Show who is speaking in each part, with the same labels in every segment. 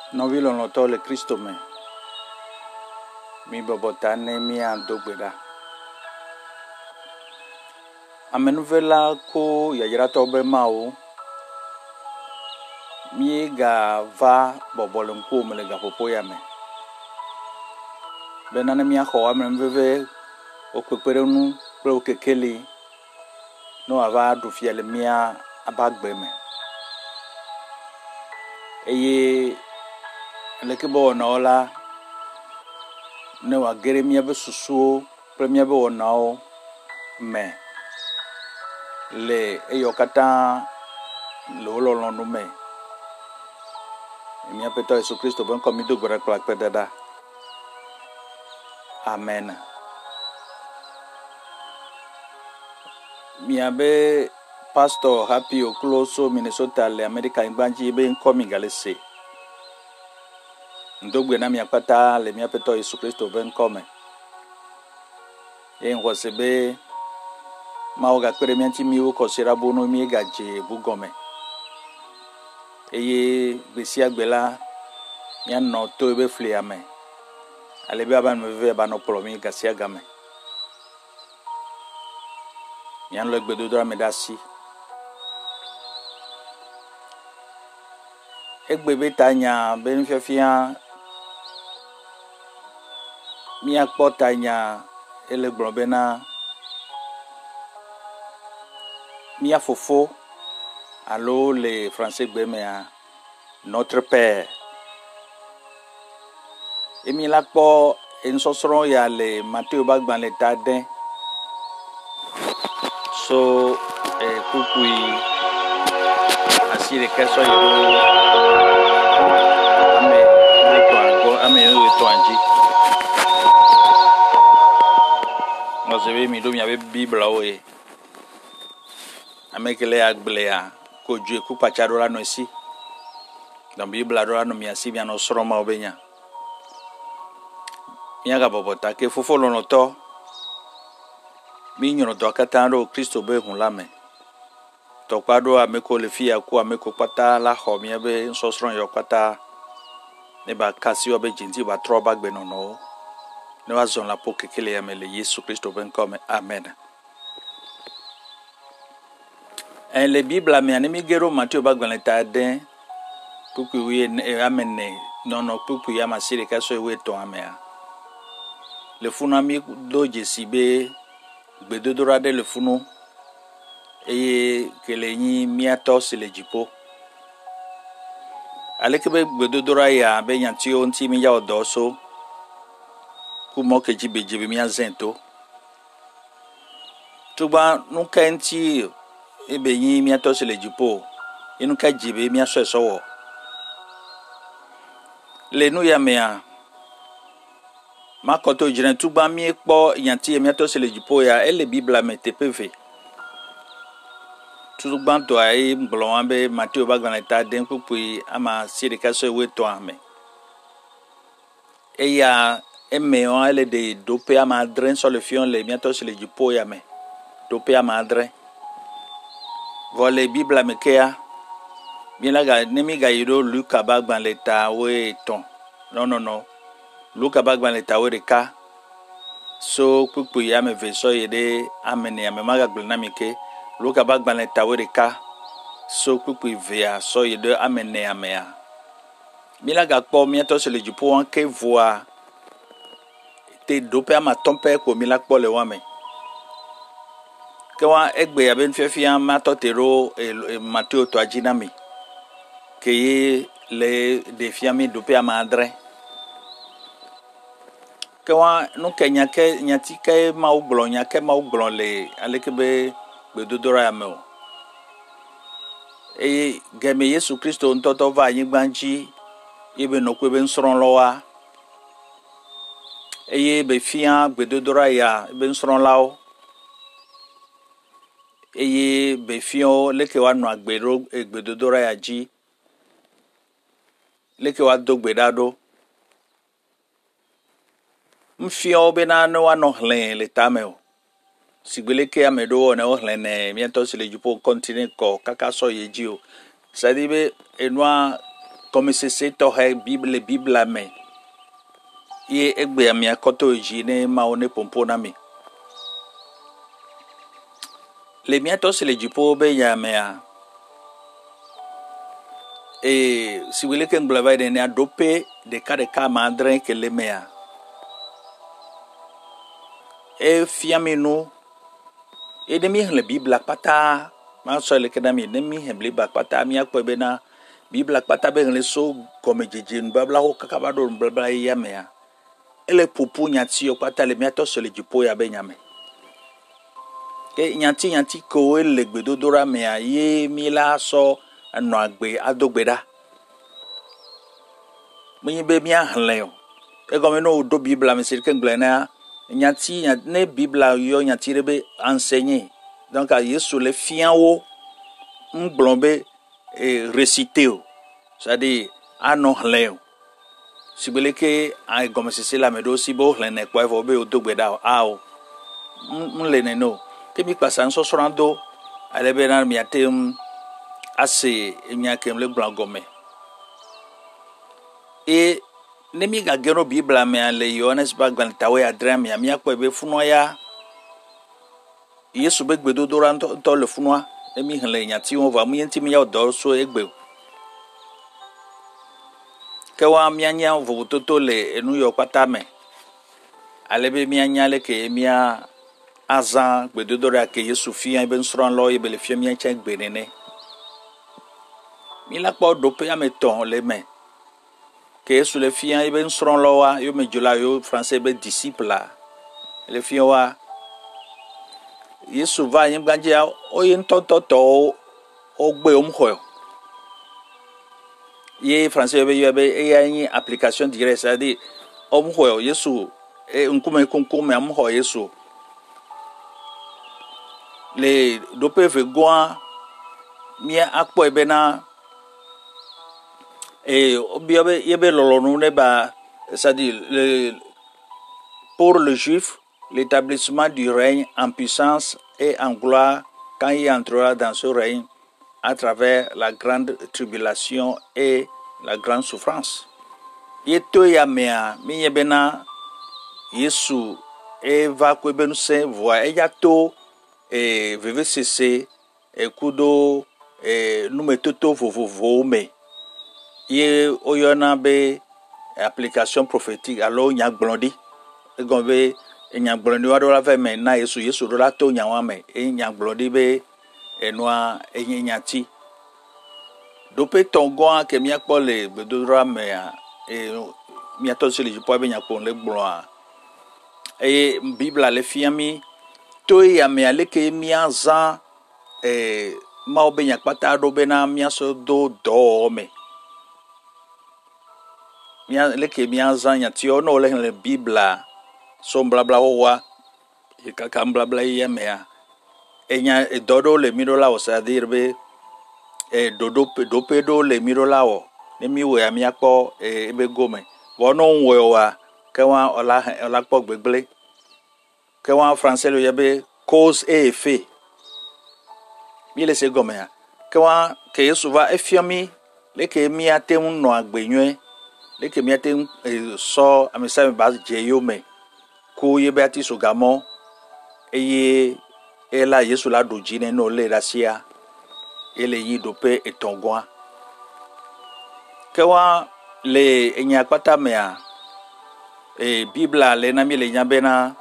Speaker 1: Novilo no tole Cristo me. Mi bobotane mi andogbeda. Amenuvela ko yayirato be mao. Mi ga va bobolenko me le ga popoya me. Benane mi akho amenuveve o kwekpere nu pre o kekele no ava du fiele mia abagbe me. Eye lekebo na ola ne wa gere mia be susuo premier be wonao me le eyokata lo no me mia peto Yesu Kristo bon komi do gbara kwa pedada. Amen. Mia be pastor happy o close Minnesota le America ingbanji be nkomi galese ndogbe na mia pata le mia peto Yesu Kristo ben come en wasebe maoga kwere mianti miwo kosira bono mi gaje bugome eye besi agbela mia no to ebe fle ame alebe aban meve ba no promi gasia game mia no gbedo dra medasi egbebe tanya ben fiafia mia kpotanya ele globena mia fofo allo les français gbemea notre père emi la kpo ensosoro ya le Matthieu bagban le tadin so kukui asire keso yo ame to anji no se ve mi do mi ave bible oe amekele agblea ko ju ku pacharo la no si dan bible ado la no mi asi bi no soro ma obenya mi aga bobota ke fofo lo no to mi nyono to akatando Kristo be hun la me to kwado ameko le fia ku ameko pata la ho mi be so soro yo pata ne ba kasi obe jinti ba troba gbe no ne wa zon la po kekele ya mele Yesu Kristo ben comme amen. En le Bible me anemi gero Matthieu bagban ta den pupu wi amene no pupu ya masire kaso ewe to amea le funu ami doje sibe gbedodora de le funu eye kelenyi miato sile jipo alekebe gbedodora ya be yanti onti mi ya odoso kumo kejibe mi azento tuba nunca enti ebe yin mi ato sele jipo inu ka jibe mi aso esowo le nu ya mea makoto jiren tuba mi ekpo yanti mi ato sele jipo ya ele Bible me tpv tuba to ai mblon ambe Matthieu bagban ta den pupui ama sire kaso ewe to ame eya eme on ele de dope ama dren sur le fion le mi ato sele jipo ya me dope ama dren vole Bible me kea bien la nemi ga yiro Luka bagban leta we ton no Luka bagban leta we reka so pupu ya me veso yede amene ya me maga glna mike Luka bagban leta we reka so pupu via so yede amene ya me ya bien la ga po mi to se le jupo an ke voa te dope ama tompe ko mi la po le wa me Kawa egbe ya ben fefia mato tero Matthieu to ajinami ke le defiami dope amadre kawa no kenya ke nyati ke ma uglonya ke ma uglon le alekebe bedodora ya me geme Yesu Kristo ntoto va yin gbanji ibe no kwebe nsron lowa be fia bedodora ya be nsron lawo be fio leke wa no agbero egbedodora ya ji leke wa dogbedado mfio be na no wa no hlen le tameo sigbeleke amedo na o hlen miento se le jupo continent ko kaka so yeji o sadibe enwa comme c'est tohe Bible la me ye egbe amia koto jine maone pompona mi le miato se le jipo be ya mea e si wile ke nglava de ne adope de ka mandre ke le mea e fiaminu e de mi le Bible pata ma so le ke na mi de mi le pata mi akpo be na Bible pata be le so comme jeje babla ho kakaba do babla ya mea ele pupu nyati yo pata le miato se le jipo ya be nyame ke nyati ko ele gbedodora mea ye mi la so no agbe adogbeda mi be mi ahle e go me no do Bible me sir ke nglena nyati ne Bible yo nyati rebe enseigner donc a Yesu le fian wo nglombe réciter c'est-à-dire ano hle sibele ke a go me sisi la me do si bo hle ne kwa fo be odogbeda ao le ne no ke mi pasan so sorando ale be na mi atem ase nya kem le blagome e ne mi ga gero Bible me ale Yohanes bagban tawe adram ya mi akwa be funo ya Yesu be gbedo doran to le funo e mi hle nya ti won va mu yenti mi ya do so egbe ke wa mi anya vo toto le enu yo pata me ale be mi anya le ke mi a azan gbedo dora ke Yesu fi an be nsron lo e be le fi mi ancha gbe nene mi la po do pe ya me ton le me que Yesu le fi an e be nsron lo wa yo me jola yo français be disciple la le fi wa Yesu va yin ganje o yin to o gbe o mho ye français be yo be e ya yin application directe c'est-à-dire o mho Yesu e nkume kunkume am ho Yesu le do pe ve goa mi akpo e be na et c'est-à-dire pour le juif l'établissement du règne en puissance et en gloire quand il entrera dans ce règne à travers la grande tribulation et la grande souffrance. Yeto ya mea mi yebena Yesu va kwebenu se voa eyato veve cesse kudo numetoto vovovo me ye oyona be application prophétique alors nya gblodi e gombe nya gblodi wa do la fe me na Yesu do la to nya wa me nya gblodi be enwa nyati do pe tongo ke mi akpo le bedora me mi ato se le po be nya ko le gblo Bible le fiami to ya me ale ke mi azan ma obe nya pata do be na mi aso do me mia leke mia zanya tio no le Bible so blabla wa e kaka blabla ya mea enya dodo le mirola o sa dirbe do pedo le mirola o ne mi we ami akpo ebe gome wono we wa ke wa ola kpo gbegble ke wa français le yabe cause et effet mi le se gome ya ke wa ke Yesu va efiami leke mi atem no agbenwe leke miate so amisa me bas jeyo me ko ye beati so gamo eye ela Yesu la dojine no le rasia ele yi dope etongwa kewa le enya pata mea Bible le na mi le nyabena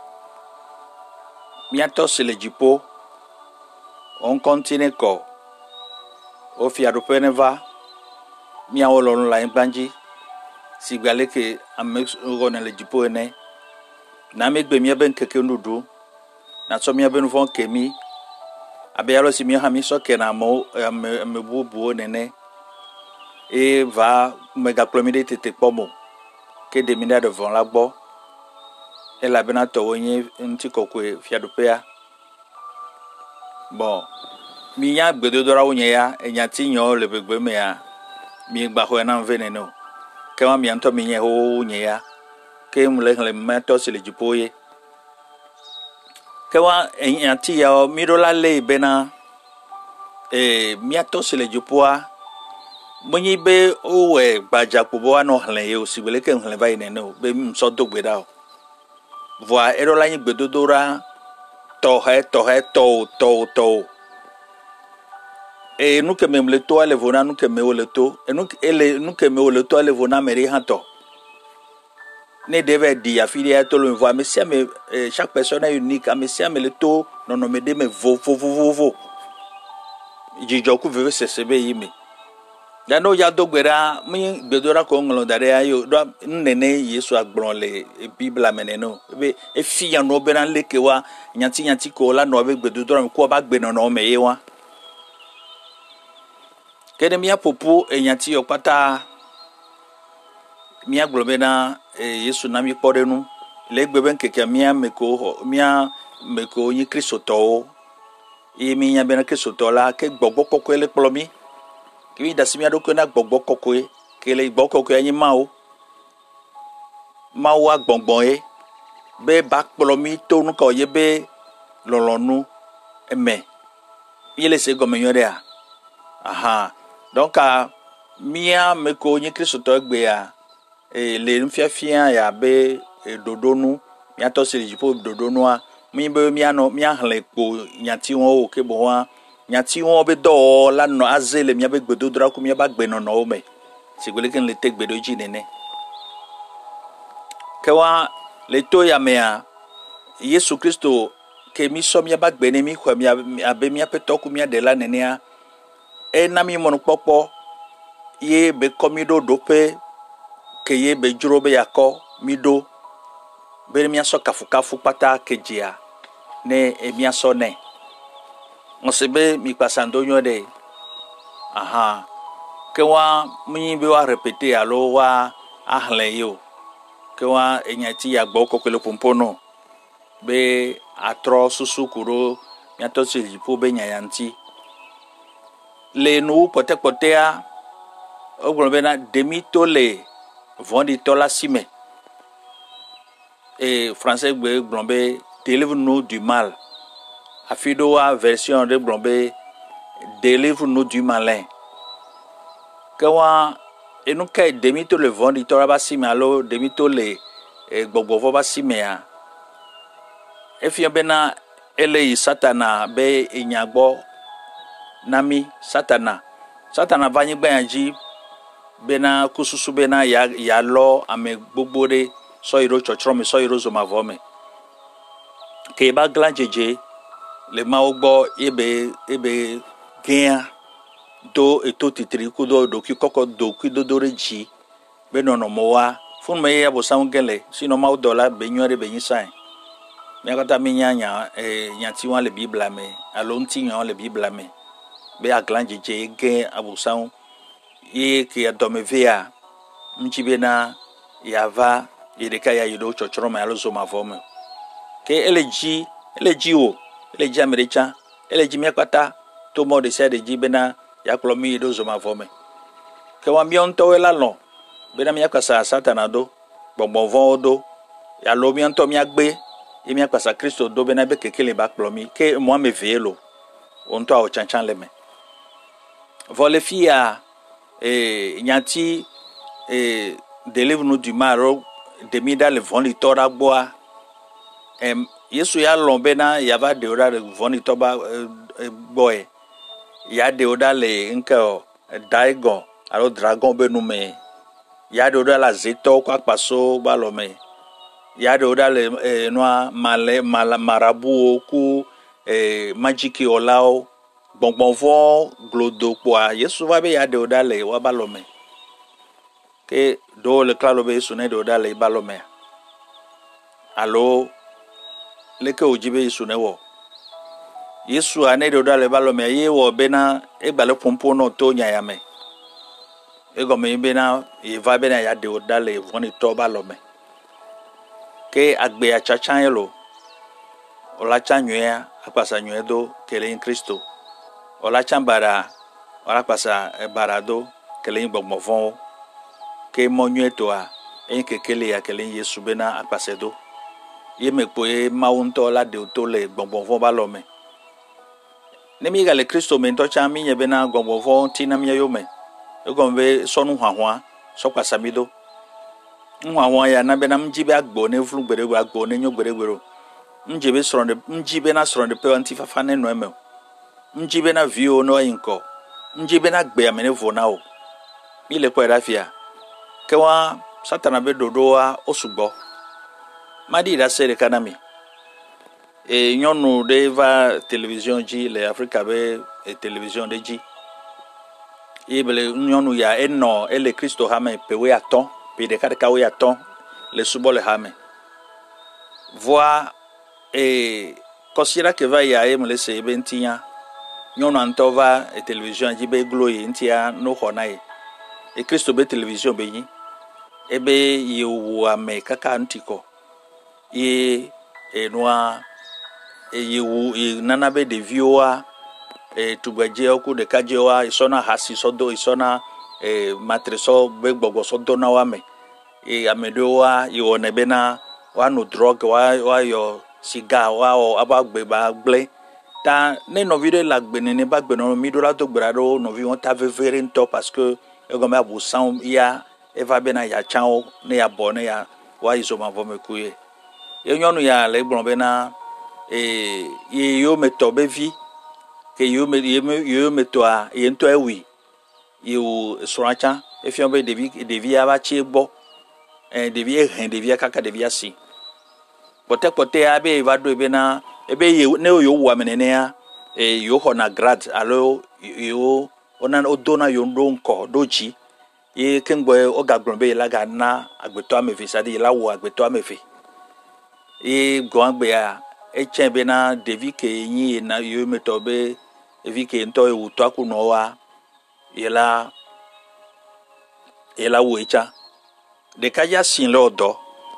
Speaker 1: miato se le jipo on continue ko o fi adope neva mi awolo la banji si gale ke amex ngone le jipo ene na megbe mi ben keke nudu na so mi ben fon kemi abeyalo si mi ha mi so ke na mo me bubu nene e va mega plomide tete pomo ke de mina devant la bo e la bena to onye nti kokwe fiadopea bon mi nya gbedo dora onye ya enya tinyo le begbe me ya mi gba ho na veneno ke ma mi anto mi nye ho nye ya ke mle meto se le jipoye ke wa enti ya mi do la le bena mi ato se le jipoa Monyi be owe baja kubo ano hlen yo si bele ke hlen vai neno be so do gbe da o voa ero la yin gbedodora to e nu ke memle to ale vona nu ke me ole to e nu ke me ole to ale vona meri hanto ne deve di afilia to lo voa me sia me chaque personne est unique me sia me le to non me de me vo jijoku veve sesebe yime ya no ya dogbera mi gbedora ko nglo dare ayo do nene Yesu agbron le Bible meneno be e fi ya no be ran lekewa nyanti ko la no be gbedora ko ba gbe no me yewa kede mi apopo nyanti yo pata mi aglobe na Yesu na mi porenu le gbebe nkeke mi meko yin Kristo to e mi nya be na Kristo to la ke gbogbo kokko le plomi ki da simia do ko na gbogbo kokko e ke le gbogbo kokko yin mawo agbongbon e be ba plomi to nu ko ye be lolonu eme yele se gomenyo de a aha donc mia meko yin Kristo to gbe a le nfiafia ya be dodonu mia to se jipo dodonu a mi be mia no mia hlen po nyanti won o ke bo wa nyanti won be do la no azele mia be gbedodra ku mia ba gbe no no me sigole ken le tek bedoji nene ke wa le to ya mea Yesu Kristo ke mi so mia ba gbe ne mi kwa mia abe mia peto ku mia de la nene a na mi mon popo ye be komido dope ke ye be jurobe yako mido be mi aso kafu pata kejia ne mi aso ne onsebe mi pasando nyode aha ke wa mi be wa répéter alo wa ahlen yo ke wa enyati ya gbo kokele pompono be atro susukuro mi ato silipo be nyanti le nu potepotea oglobe na demito le vondi tola sime et français blombe délivre-nous du mal afido wa version de blombe délivre-nous du malin kawa enu kai demito le vondi tola ba sime alo demito le gbogbo ba sime a efia bena ele satana be inyagbo nami satana vanyi gbanji bena kususu bena ya lo ame gbogbo de so iro chochro me so iro zo mavome ke ba glanjeje le ma ogbo ebe gen do eto titri ku do ki koko do ki do reji be no mowa fun me ya bo sam gele sino ma dola be nyore be nyisan me akata mi nyanya nyanti wan le Bible me alo nti nyan le Bible me be aglanjeje gen abusan ye ke adomevea mchibena yava yedeka ya yido chochoro ma alozo mavome ke eleji americha eleji miakata to mo de sede jibena yaklomi yido zo mavome ke wa mionto ela no bena miakasa satana do gbongbon do ya lo mionto miagbe ye miakasa Kristo do bena be kekele ba klomi ke mo amevelo onto a chanchan leme vole fia nyanti délivre-nous du mal demida le voni tora boa Yesu ya lombena ya va de ora le voni toba boy ya de oda le nka daigon alo dragon be nu me ya de oda la zeto kwa paso ba lo me ya de oda le noa marabu ku magic olao bonbonvon glodo kwa Yesu va be ya de oda le wa ba lo me ke do le klalo be Yesu ne de oda le ba lo me alo le ke ojibe Yesu ne wo Yesu ane de oda le ba lo me ye wo be na e gba le pompo no to nya ya me e go me be na e va be na ya de oda le voni to ba lo me ke agbe a chachan yelo ola chanywea apasa nywedo kele in Kristo ola chambara ola pasa barado kele in gbogmovon ke monyueto a en kekele ya kele Yesu bena apasedo ye mepo e maunto la de to le gbogmovon ba lo me ne mi ga le Kristo me to cha mi ye bena gbogmovon tina mi yo me egombe sonu hwahwa sokwa samido hwahwa ya na be na mjibe agbo ne vlu gbere agbo ne nyo gbere mjibe sronde mjibe na sronde pe anti fafa ne no eme mjibe na vio no yinko mjibe na gbe amene vona o ile kwa rafia kewa satana be dodoa osugbo madi da sere kanami nyonu de va télévision ji le Africa be télévision de ji ibele nyonu ya eno ele Kristo hame pewe aton pe de kada we aton le subo le hame voa considère que va ya me laisser e bentia nyonu antova télévision ji be gloye ntia no honae Kristo be télévision be yi ebe yewu ame kaka ntiko ye noa yewu nana be de vioa tugbaje oku de kajewa isona hasi sodo isona matreso be gbogbo sodo na wa me amedowa yo nebena wa no drug wa yo cigar wa o abagbe ba gble ta ne no video la gbe ne ba gbe no mi do la to gbara no vi won ta vevere nto parce que egome abusan ya eva bena ya chao ne ya bone ya wa iso ma vo me kuye nyonu ya le gbon bena ye yo meto bevi ke yo meto a ye nto ewi yo soracha efion be devi aba chegbo devi devi kaka devi asi pote abe va do bena ebe ye ne yo wa menene ya yo hona grad alo yo ona odona yo ndonko doji ye kengbo ogagbon be la ga na agbeto amefe sadi la wo agbeto amefe goangbe a echebe na devi ke yin na yo metobe evi ke nto ewu to akuno wa yela wo echa de kaja sin lodo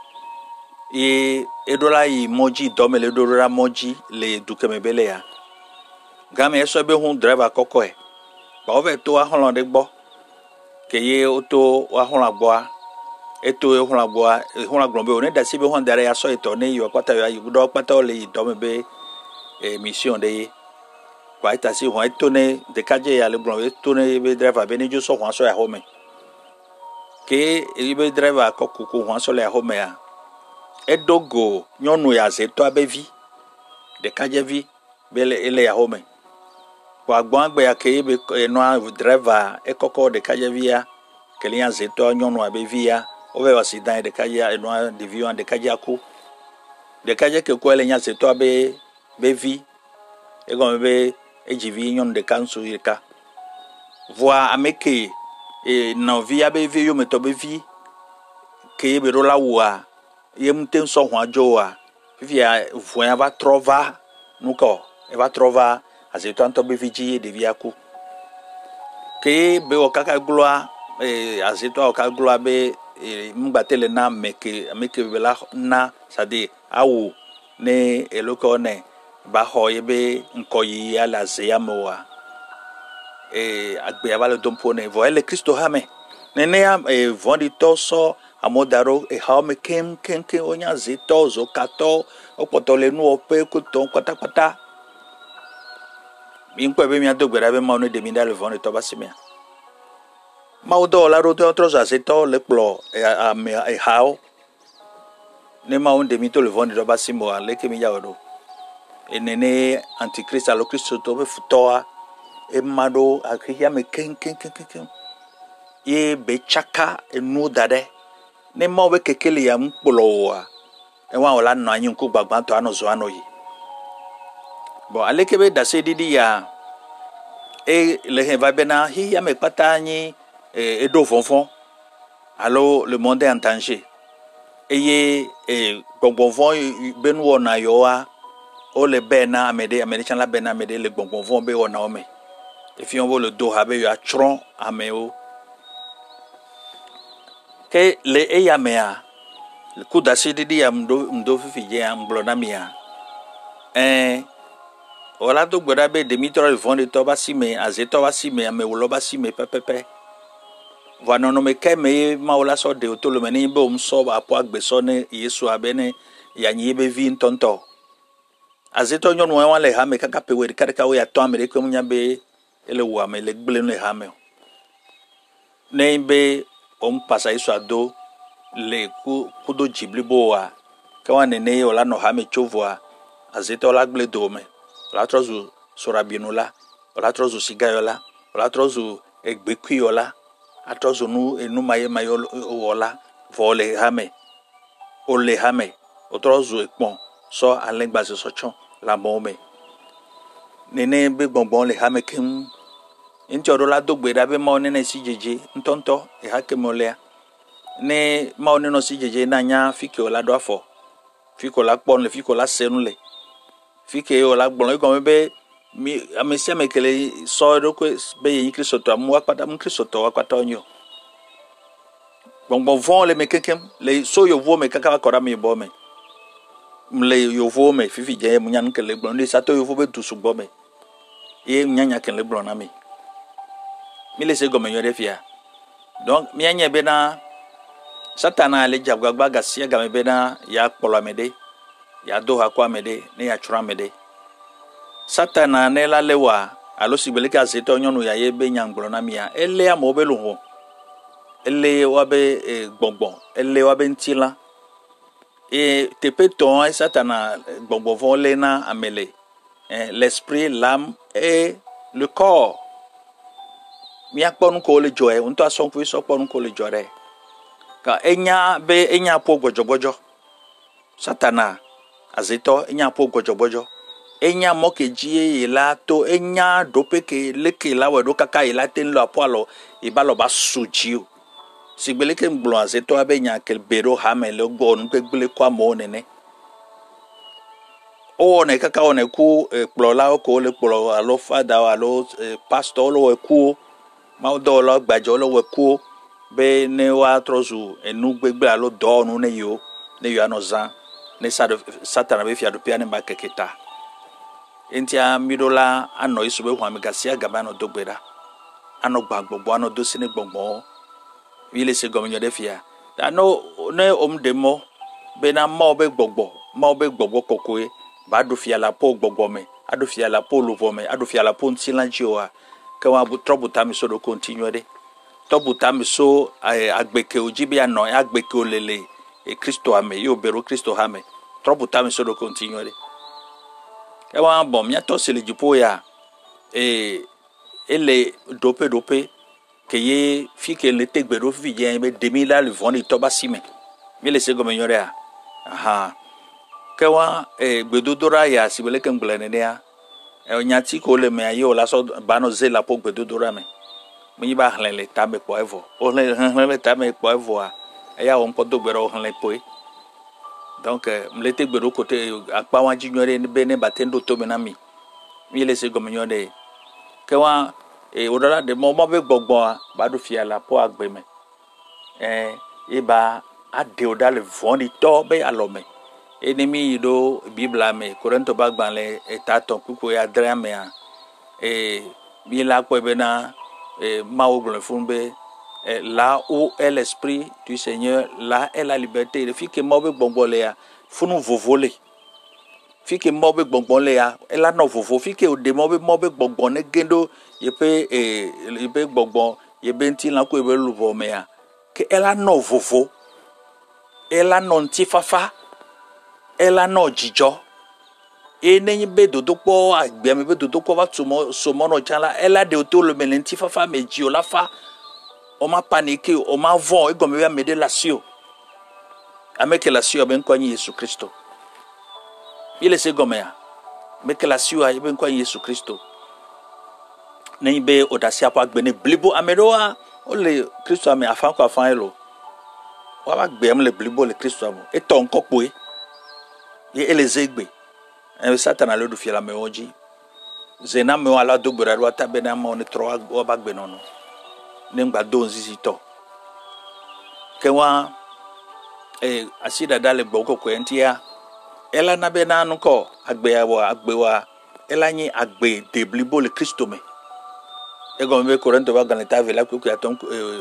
Speaker 1: edola yi moji domele dora moji le dukemebele ya game eso be hun driver koko e ba o ve to ahon de gbo ke ye oto ahon agbo eto ehun agbonbe oni da sibe hon dare ya so ito ni yo pata ya yudo pata o le do me be mission de kwa ita si hon eto ne de kaje ya le gbon eto ne be driver be ni jo so hon so ya home ke be driver ko kuku hon so le home ya edogo nyonu ya se to abevi de kaje vi be le ya home kwa gbon agbe ya ke be no driver ekoko de kaje vi ya ke le ya se to nyonu abevi ya ove wasidan de kaja eno de vion de kaja ku de kaja ke ko ele nya se to be vi e go be ejivi nyon de kansu yeka voa ameke no via be vi yo meto be vi ke be rola wa ye mten so ho ajo wa via voa va trova nuko e va trova azeto anto be vi de via ku ke be o kaka gloa azeto o kaka gloa be mbatele na meke bela na sadi awu ne eloko ne ba ho yebe nkoyi ala zeyamoa agbe avale dompo ne vo ele Kristo hame nene ya vondi toso amodaro ha me kem onya zito zo kato opotole nu ope kuton kwata mi nko be mi adogbera be ma no de mi dale vondi to basimia Maudo la route otros aceto le plo e hao ne ma un demito le vondi roba simo ale ke mi yaodo enene antichrist alo Kristo to be futoa e mado akihia me ken ye be chaka enu dade ne ma we kekele ya mpolo wa e wa ola no anyin ku gbagban to anozo anoyi bo ale ke be da se didi ya le he va bena hi ya me pata anyi edo fonfon allo le monde en danger eye gbongbonfon benu ona yoa o le bena amede american la bena amede le gbongbonfon be ona ome if you le do habe yo atron ameo ke le eyamea le kuda sididi ya mdo fifi je amblona mia ola do gboda be demitro le fond de toba sime azetoba sime amewoloba sime pepepe Vano no me keme maula so de otolo meni be umso apo agbeso ne Yesu abene ya nyibe vi ntonto azeto nyon wa le ha me kaka pe we kaka we ato amere ko munya be ele wa me le gbele no ha me Nembe pasa iso ado le kudo jibliboa kawa nene ola no hame chovoa azete ola gble dome ola trozu sorabinola ola trozu sigayola ola trozu egbekuyola atrozu nu enu maye ola vole hame ole hame otrozu ekpon so alengba se sochon la mome nene be gbongbon le hame kem inti odola dogbe da be ma onene si jeje ntonto e hakemolea ne ma oneno si jeje na nya fike ola do afo fike ola pon le fike ola senule fike ola gbon ko be mi amesi amekele so do ko be yin Kristo to amu akpata mu Kristo to akpata onyo gbongbon von le mekekem le so yo vo me kaka akora mi bo me mle yo vo me fifi je mu nyan kele gbon le sato yo vo be dusu bo me e nyanya kele gbon na mi se gome yore fia donc mi anya be na satana le jagwagba gasia game be na ya kpolo mede ya do ha kwa mede ne ya chura mede satana ne la lewa alo sibeleka zeto nyonu ya ye be nyangbro na mi ya ele ya mo be lu ho ele wa be gbongbon ele wa be ntila tepeton satana gbongbon vole na amele l'esprit, l'âme et le corps. Mi akponu ko le joe unto asonfu so kponu ko le jore ka enya po gbojobojo satana azeto enya po gbojobojo enya mokeji la to enya dopeke leke la wedo kaka ila ten lo apolo ibalo ba sujiu sigbeleke mblo azeto abenya kel bero hamele gbonu pegbele kwa mo nene o ne kaka one ku plola ko le plo alo fada alo pastor lo ku ma do lo gbajo lo weku be ne wa trozu enu gbegbe alo do nu ne yo anozan ne satana be fia do pia ne ba keketa entia midola ano isu be hwame gasia gaba no dogbeda ano gbagbogbo ano do sine gbogbo wile se gomenyo de fia ano ne demo be na ma obe gbogbo kokoe ba do fia la po gbogbo me ado fia la po luvo me ado fia la po ntilanji o kawa bu trouble time so do continue de trouble time so agbeke ojibi ano agbeke olele Kristo ame yo bero Kristo ame trouble time so do continue de kawa bom ya to sele jipo ya ele dope ke ye fike le tegbero fi je be 2000 le voni to basime mi le se gomenyo re aha kawa gbedodora ya sibele kemglene ne ya nyati ko le me ayo la so bano zela po gbedodora me mi ba hlenle tabe po evo o le tabe po evo a ya on po dogbero hlenle po donc mle tegbero côté akpa wan jinyore ni bene batendo to me na mi le se gomenyo de kawa odala de mo be gbogbo ba do fia la po agbe me iba ade odale voni to be alome enemi do bibla me Korinto bagbanle etaton kuko ya drame a bi la ko be na ma ogbon funbe là où est l'esprit du Seigneur là est la liberté le fike mo be gbogbole ya funu vovole fike mo be gbogbole ya ela no vovo fike o de mo be gbogbone gendo yepe gbogbon yebe nti la ko be luvo me ya ke ela no vovo ela no ntifafa ela no jijo ene be dodokpo agbe me be dodokpo va tumo somo no chala ela de otolo melenti fafa meji ola fa o ma panique o ma von e gomme me de lasio ameke lasio ben kwa Yesu Kristo ile se gomme ya meke lasio a ben kwa Yesu Kristo ne be odasia pa agbe ne blibo ameroa o le Kristo ame afan kwa afan elo wa ba gbe am le blibo le Kristo amo e ton kokpo ye elezegbe satana le do fia la meoji zena me ala do gbera ro tabe na mo ni tro o ba gbe nono ne ngba do nzizi to kewa asida dale gboko ko entia ela na be na nko agbe wa ela yin agbe de blibo le Kristo me e go me Korinto ba gan ta vela ku ya ton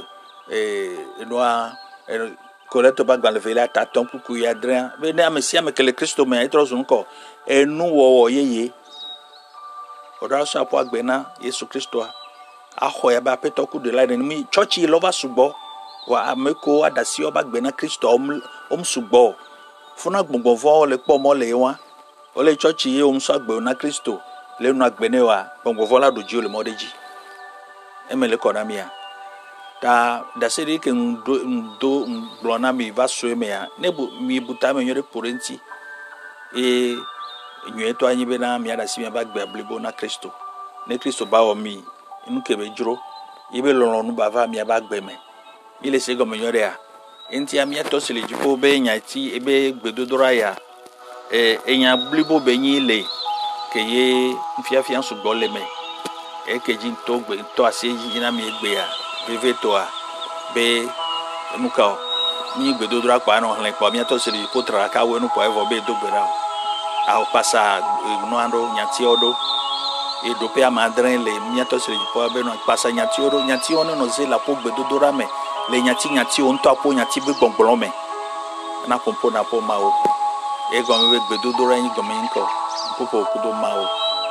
Speaker 1: noa Korinto ba gan le vela ta ton ku ya dren be na mesia me ke le Kristo me itro nko enu wo yeye oda so apo agbe na Yesu Kristo Aho ya ba peto ku de la ni church yi lova subo wa ameko adasi oba gbe na Kristo subo funa gbongbon vo le po mo le wa ole church yi so gbe na Kristo le nu agbene wa gbongbon vo la doji ole modeji emele kona mia ta da seri ke ndo blona mi va so me ya nebu mi buta me nyore porenti nywe to anyi be na mi ada si mi ba gbe ablebo na Kristo ne Kristo ba o mi inu kebe juro ibe lolo nu bava mi aba gbeme ile se go menyore a enti amia to sele jipo be nya ti ebe gbedodora ya enya blibo be nyi le ke ye mfiafia so gole me keji to gbe to aseji na mi egbe ya beve to a be nuka mi gbedodora pa no hlen pa mi to sele jipo tra ka we nu po evo be do gbera a pasa no ando nya ti odo e dope amadre le miato se po be no pasa nyati ono no ze la po gbedodora me le nyati on to apo nyati be gbongbon me na pompo na po ma o e go me gbedodora yin go me nko popo kudo ma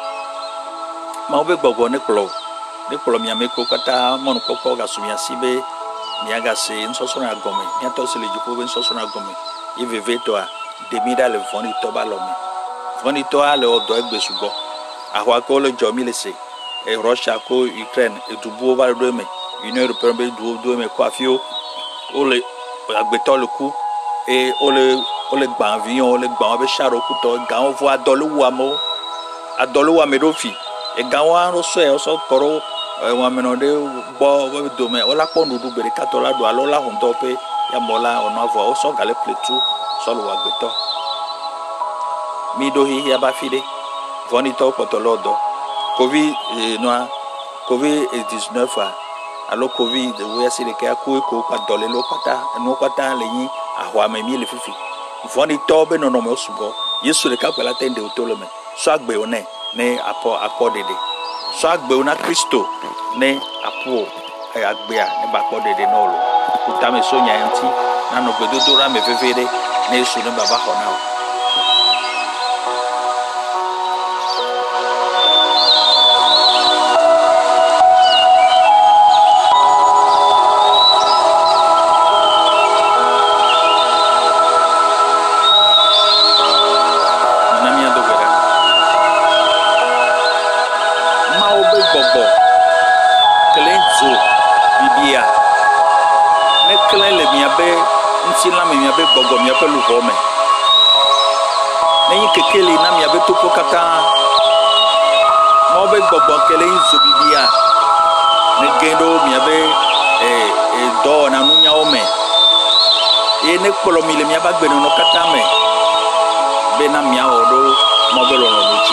Speaker 1: o be gbogbo ne klo mi ameko kata mon popo ga sumia sibe mi aga se nsoso na go me miato se le jipo be nsoso na go me e veveto a demida le voni to ba lo me voni to a le odo egbe sugo ahwa ko le jomi le se e Russia ko Ukraine e dubu over do me Union Européenne be do me ko afio ole agbeto le ku e ole gba avion ole gba be charo ku to ga on vo adolo wa me do fi e ga wa ro so e so koro wa me no de bo be do me ola po nudu bere katola do alo la hon do pe ya mola ono vo o so gale pletu so lo wa gbeto mi do hi ya ba fide vonito potolodo covid 19 alo covid we asile ke ko pa dole lo pata le yin ahwa me mi le fifi vonito be no me osugo yesu le ka pela tende otolome so agbe one ne apo dede so agbe ona Kristo ne apo agbe a ne ba po dede no lo utame so nya enti na no gbedodora me vevere ne yesu ne baba hona la me mi abe bogo mi abe lu vome ne kekele na mi abe topo kata mo be bogo kele nzo bibia ne gendo mi abe do na nunya ome ne kpolo mi le mi aba gbenu no kata me be na mi awodo mo be lo muchi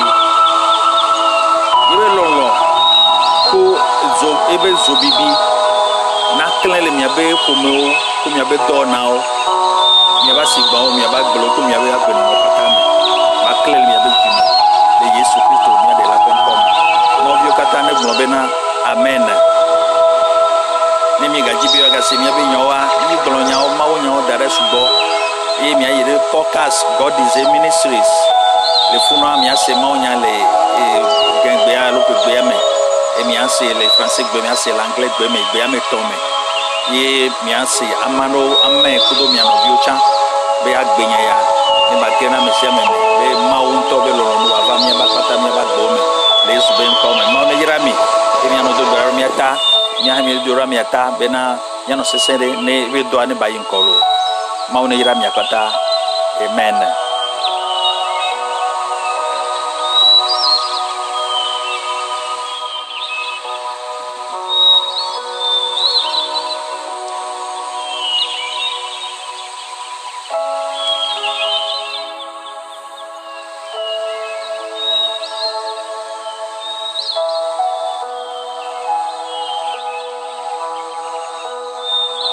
Speaker 1: ibe lo ko ebe zo bibi na kele mi abe komo ko mi abe do na o mi aba sigba o mi aba gbolo ko mi aba ya gbenu no kata me ba kele mi abe jimi de Yesu Kristo mi ade la konkom mo bi o kata ne gbo be na amen ni mi gaji bi o ga se mi abe nyowa ni gbolo nya o ma wo nya o dare subo e mi ayire podcast God is a Ministries le funu mi ase ma o nya le gengbe a lo gbe me e mi ase le français gbe mi ase l'anglais gbe me gbe me to me ye mi ase amano amme kudo mi ano biocha be agbenya ya ni ba gena me se me be ma o nto be lo no ava mi ba pata mi ba gbo me le su be nko me ma o ne yira mi e mi ano do do mi ata mi ha mi do ra mi ata be na ya no se se ne be do ani ba yin kolo ma o ne yira mi akata amen.